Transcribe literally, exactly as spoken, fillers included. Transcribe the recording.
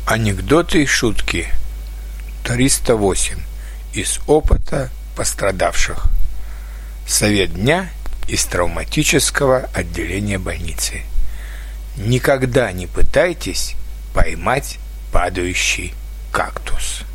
Анекдоты и шутки. триста восемь. Из опыта пострадавших. Совет дня из травматического отделения больницы. Никогда не пытайтесь поймать падающий кактус.